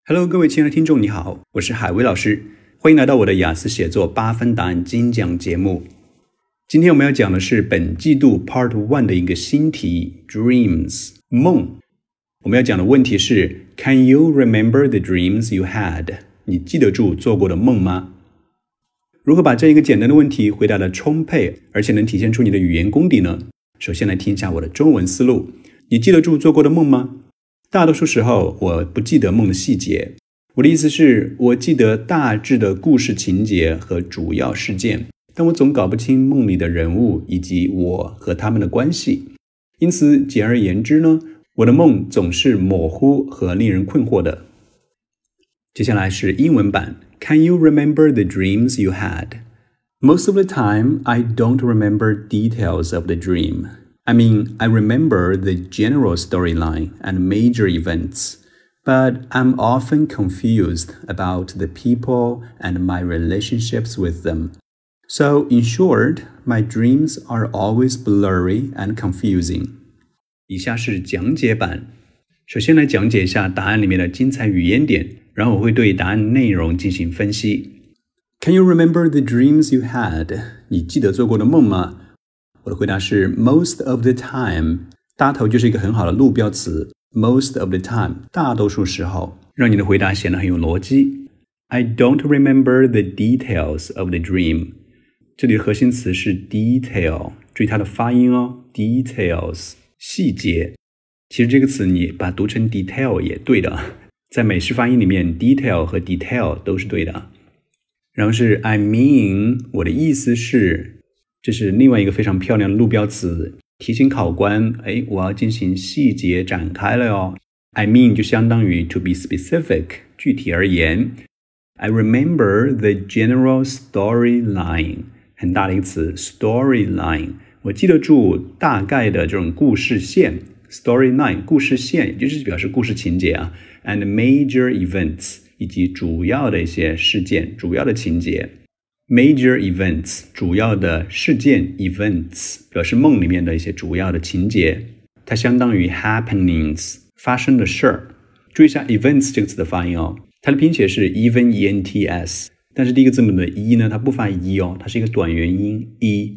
Hello， 各位亲爱的听众，你好，我是海威老师，欢迎来到我的雅思写作8分答案精讲节目。今天我们要讲的是本季度 Part 1的一个新题 Dreams 梦。我们要讲的问题是 Can you remember the dreams you had？ 你记得住做过的梦吗？如何把这一个简单的问题回答得充沛，而且能体现出你的语言功底呢？首先来听一下我的中文思路。你记得住做过的梦吗？大多数时候我不记得梦的细节，我的意思是我记得大致的故事情节和主要事件，但我总搞不清梦里的人物以及我和他们的关系。因此简而言之呢，我的梦总是模糊和令人困惑的。接下来是英文版 Can you remember the dreams you had? Most of the time, I don't remember details of the dream.I remember the general storyline and major events, but I'm often confused about the people and my relationships with them. So, in short, my dreams are always blurry and confusing. 以下是讲解版。首先来讲解一下答案里面的精彩语言点，然后我会对答案内容进行分析。Can you remember the dreams you had? 你记得做过的梦吗？我的回答是 most of the time， 大头就是一个很好的路标词 most of the time， 大多数时候，让你的回答显得很有逻辑。I don't remember the details of the dream， 这里的核心词是 detail， 注意它的发音哦 details， 细节。其实这个词你把它读成 detail 也对的，在美式发音里面 detail 和 detail 都是对的。然后是 I mean， 我的意思是，这是另外一个非常漂亮的路标词，提醒考官，我要进行细节展开了哟。I mean 就相当于 to be specific， 具体而言。I remember the general storyline， 很大的一个词 storyline， 我记得住大概的这种故事线 storyline， 故事线，也就是表示故事情节啊 and major events， 以及主要的一些事件，主要的情节。Major events 主要的事件 events 表示梦里面的一些主要的情节，它相当于 happenings 发生的事儿。注意一下 events 这个词的发音哦，它的拼写是 even E-N-T-S， 但是第一个字母的 E 呢，它不发 E 哦，它是一个短元音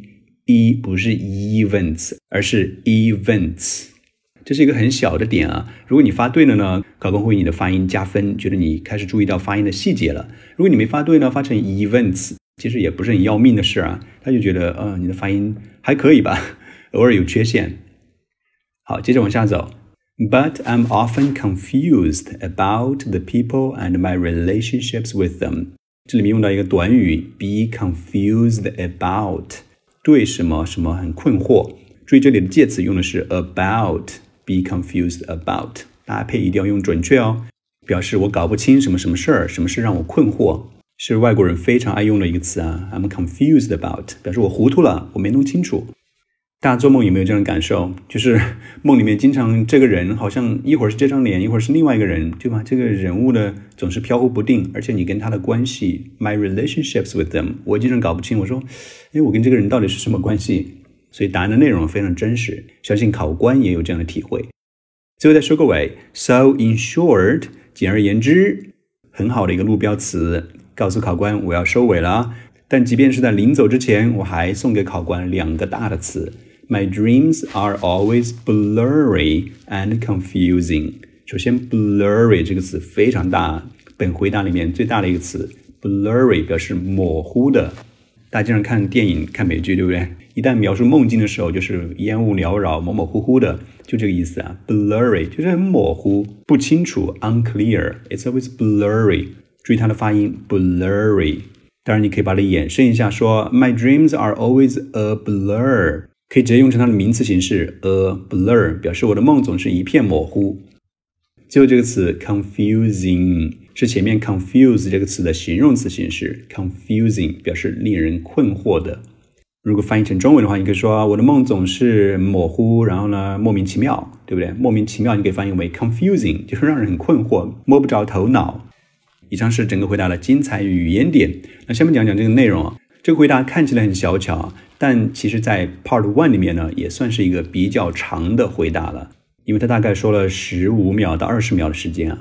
E 不是 events 而是 events， 这是一个很小的点啊。如果你发对了呢，考官会为你的发音加分，觉得你开始注意到发音的细节了。如果你没发对呢，发成 events其实也不是很要命的事啊，他就觉得你的发音还可以吧，偶尔有缺陷。好，接着往下走。But I'm often confused about the people and my relationships with them. 这里面用到一个短语 be confused about， 对什么什么很困惑。注意这里的介词用的是 about， be confused about， 搭配一定要用准确哦，表示我搞不清什么什么事儿，什么事让我困惑。是外国人非常爱用的一个词啊 I'm confused about， 表示我糊涂了，我没弄清楚。大家做梦有没有这样的感受？就是梦里面经常这个人好像一会儿是这张脸，一会儿是另外一个人，对吧？这个人物呢总是飘忽不定，而且你跟他的关系 my relationships with them， 我经常搞不清，我说我跟这个人到底是什么关系？所以答案的内容非常真实，相信考官也有这样的体会。最后再说个尾 So in short， 简而言之，很好的一个路标词，告诉考官我要收尾了，但即便是在临走之前，我还送给考官2个大的词 My dreams are always blurry and confusing。 首先 blurry 这个词非常大，本回答里面最大的一个词 blurry 表示模糊的。大家经常看电影看美剧对不对？一旦描述梦境的时候就是烟雾缭绕模模糊糊的，就这个意思啊 blurry 就是很模糊不清楚 unclear It's always blurry，注意它的发音 blurry， 当然你可以把它衍生一下说 My dreams are always a blur， 可以直接用成它的名词形式 a blur， 表示我的梦总是一片模糊。最后这个词 confusing 是前面 confuse 这个词的形容词形式 confusing 表示令人困惑的。如果翻译成中文的话，你可以说我的梦总是模糊，然后呢莫名其妙，对不对？莫名其妙你可以翻译为 confusing， 就是让人很困惑，摸不着头脑。以上是整个回答的精彩语言点。那下面讲讲这个内容啊。这个回答看起来很小巧，但其实在 Part 1里面呢，也算是一个比较长的回答了，因为它大概说了15秒到20秒的时间啊。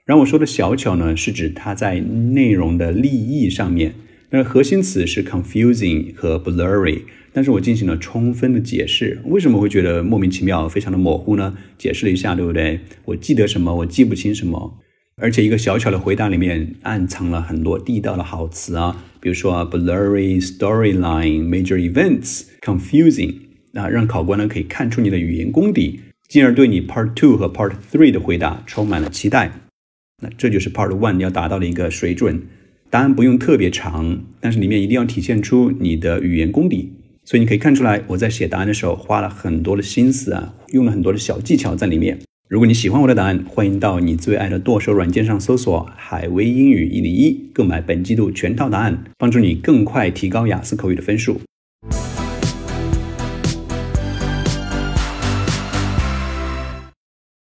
然后我说的小巧呢，是指它在内容的立意上面，那核心词是 confusing 和 blurry， 但是我进行了充分的解释。为什么会觉得莫名其妙，非常的模糊呢？解释了一下，对不对？我记得什么，我记不清什么。而且一个小巧的回答里面暗藏了很多地道的好词啊，比如说 blurry, storyline, major events, confusing， 让考官呢可以看出你的语言功底，进而对你 Part 2和 Part 3的回答充满了期待。那这就是 Part 1要达到的一个水准。答案不用特别长，但是里面一定要体现出你的语言功底。所以你可以看出来，我在写答案的时候花了很多的心思啊，用了很多的小技巧在里面。如果你喜欢我的答案，欢迎到你最爱的剁手软件上搜索海威英语101，购买本季度全套答案，帮助你更快提高雅思口语的分数。